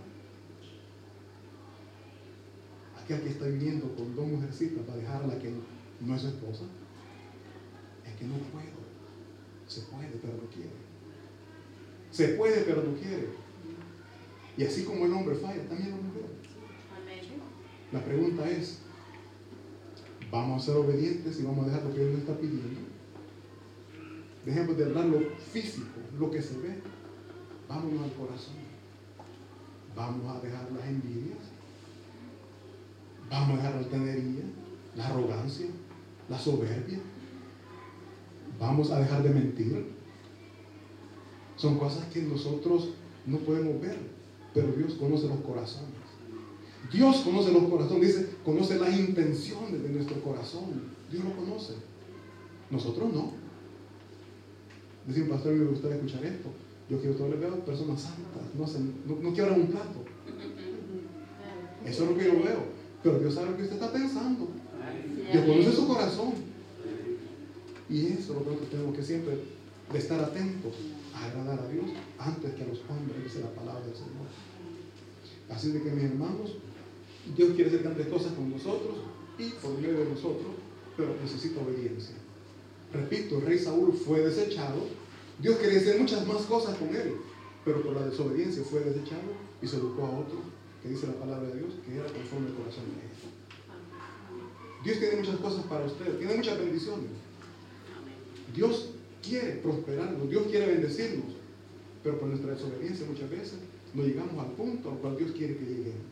Aquel que está viviendo con dos mujercitas va a dejar a la que no es su esposa. Es que no puedo. Se puede, pero no quiere. Se puede, pero no quiere. Y así como el hombre falla, también la mujer. Amén. La pregunta es, ¿vamos a ser obedientes y vamos a dejar lo que Dios nos está pidiendo? Dejemos de hablar lo físico, lo que se ve. Vámonos al corazón. Vamos a dejar las envidias. Vamos a dejar la altanería, la arrogancia, la soberbia. Vamos a dejar de mentir. Son cosas que nosotros no podemos ver, pero Dios conoce los corazones. Dios conoce los corazones, dice, conoce las intenciones de nuestro corazón. Dios lo conoce. Nosotros no. Dice un pastor, me gustaría escuchar esto. Yo quiero todos les veo personas santas, no, se, no, no quiebran un plato. Eso es lo que yo veo. Pero Dios sabe lo que usted está pensando. Dios conoce su corazón. Y eso es lo que nosotros tenemos que siempre de estar atentos a agradar a Dios antes que a los hombres, dice la palabra del Señor. Así de que, mis hermanos, Dios quiere hacer tantas cosas con nosotros y por medio de nosotros pero necesita obediencia. Repito, el rey Saúl fue desechado. Dios quería hacer muchas más cosas con él, pero por la desobediencia fue desechado y se educó a otro, que dice la palabra de Dios, que era conforme al corazón de él. Dios tiene muchas cosas para usted, tiene muchas bendiciones. Dios quiere prosperarnos, Dios quiere bendecirnos, pero por nuestra desobediencia muchas veces no llegamos al punto al cual Dios quiere que lleguemos.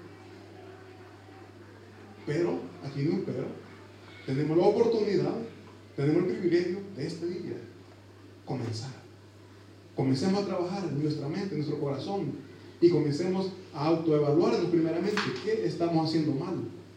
Pero, aquí no hay un pero, tenemos la oportunidad, tenemos el privilegio de este día comenzar. Comencemos a trabajar en nuestra mente, en nuestro corazón, y comencemos a autoevaluarnos primeramente qué estamos haciendo mal.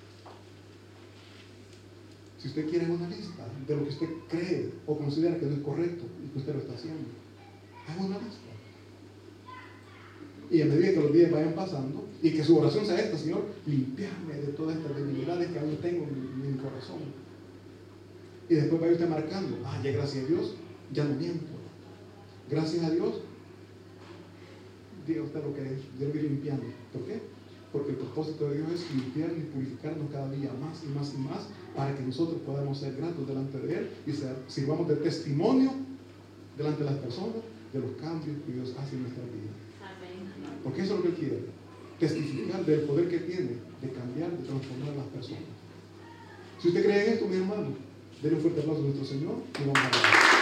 Si usted quiere una lista de lo que usted cree o considera que no es correcto y que usted lo está haciendo, haga una lista. Y a medida que los días vayan pasando y que su oración sea esta: Señor, limpiarme de todas estas debilidades que aún tengo en mi corazón. Y después vaya usted marcando: ah, ya gracias a Dios, ya no miento. Gracias a Dios, diga usted lo que es, yo lo voy limpiando. ¿Por qué? Porque el propósito de Dios es limpiarnos y purificarnos cada día más y más y más, para que nosotros podamos ser gratos delante de Él y ser, sirvamos de testimonio delante de las personas de los cambios que Dios hace en nuestra vida. Porque eso es lo que Él quiere, testificar del poder que tiene de cambiar, de transformar a las personas. Si usted cree en esto, mi hermano, denle un fuerte aplauso a nuestro Señor y vamos a ver.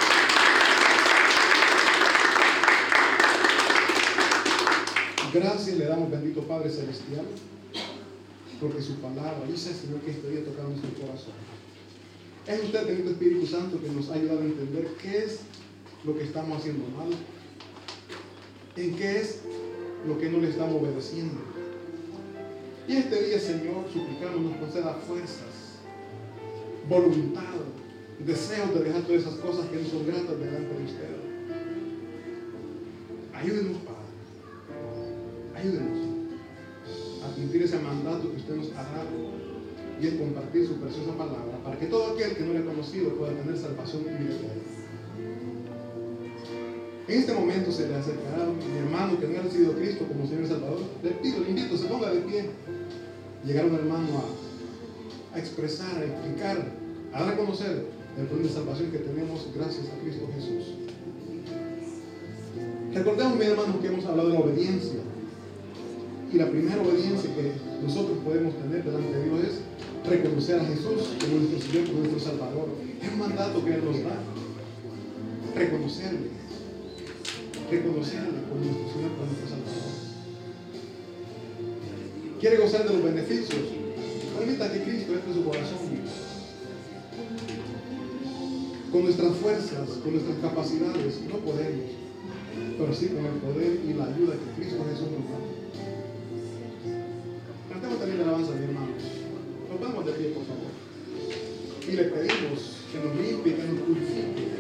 Gracias le damos, bendito Padre Celestial, porque su palabra dice, Señor, que este día toca nuestro corazón. Es usted, bendito Espíritu Santo, que nos ha ayudado a entender qué es lo que estamos haciendo mal, en qué es lo que no le estamos obedeciendo. Y este día, Señor, suplicamos nos conceda fuerzas, voluntad, deseos de dejar todas esas cosas que no son gratas delante de usted. Ayúdenos, Padre. Ayúdenos a cumplir ese mandato que usted nos ha dado, y es compartir su preciosa palabra, para que todo aquel que no le ha conocido pueda tener salvación y vida eterna. En este momento se le acercará mi hermano que no ha recibido a Cristo como Señor y Salvador. Le pido, le invito, se ponga de pie. Llegar un hermano a, a expresar, a explicar, a dar a conocer el poder de salvación que tenemos gracias a Cristo Jesús. Recordemos, mi hermano, que hemos hablado de la obediencia. Y la primera obediencia que nosotros podemos tener delante de Dios es reconocer a Jesús como nuestro Señor, como nuestro Salvador. Es un mandato que Él nos da. Reconocerle. Reconocerle como nuestro Señor, como nuestro Salvador. ¿Quiere gozar de los beneficios? Permita que Cristo entre en su corazón. Con nuestras fuerzas, con nuestras capacidades, no podemos, pero sí con el poder y la ayuda que Cristo Jesús nos da. Cantemos también la alabanza, mi hermano. Nos vamos de pie, por favor. Y le pedimos que nos limpie, que nos purifique.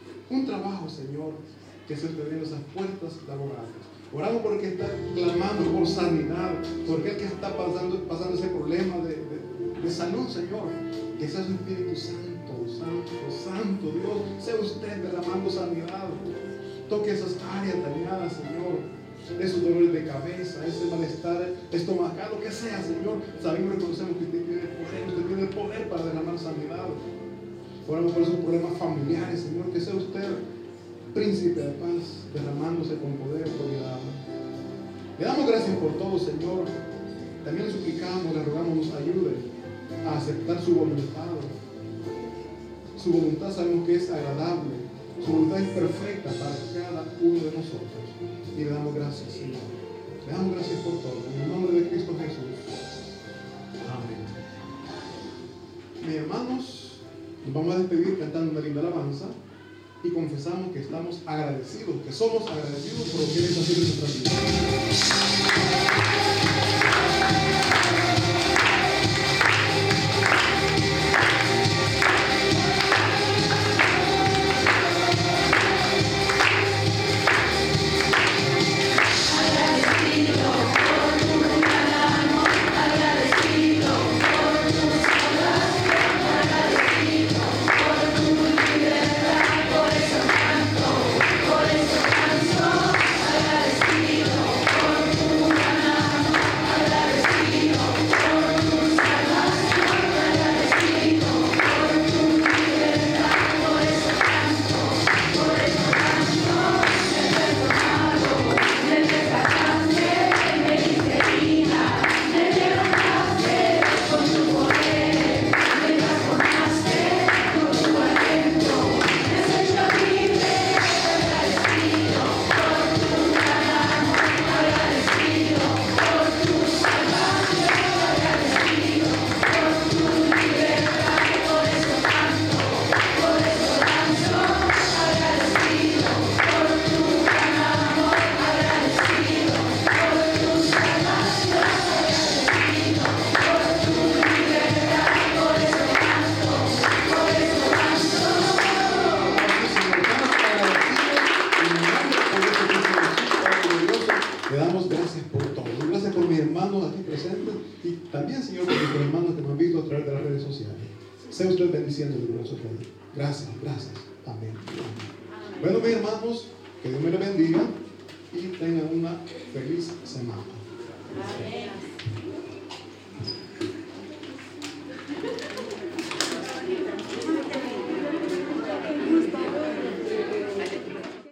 Que se te den esas puertas laborales. Oramos por el que está clamando sanidad. Por aquel que está pasando, pasando ese problema de, de, de salud, Señor. Que sea su Espíritu Santo, Santo, Santo Dios. Sea usted derramando sanidad. Toque esas áreas dañadas, Señor. Esos dolores de cabeza, ese malestar estomacal, lo que sea, Señor. Sabemos y reconocemos que usted tiene el poder, usted tiene el poder para derramar sanidad. Oramos por esos problemas familiares, Señor. Que sea usted príncipe de paz, derramándose con poder, autoridad. Le damos gracias por todo, Señor. También le suplicamos, le rogamos, nos ayude a aceptar su voluntad. Su voluntad sabemos que es agradable. Su voluntad es perfecta para cada uno de nosotros. Y le damos gracias, Señor. Le damos gracias por todo. En el nombre de Cristo Jesús. Amén. Mis hermanos, nos vamos a despedir cantando una linda alabanza y confesamos que estamos agradecidos, que somos agradecidos por lo que Él está haciendo en nuestras vidas. Le damos gracias por todo. Gracias por mis hermanos aquí presentes y también, Señor, por mis hermanos que me han visto a través de las redes sociales. Sea usted bendiciendo el glorioso Rey. Gracias, gracias. Amén. Amén. Bueno, mis hermanos, que Dios me los bendiga y tengan una feliz semana. Amén.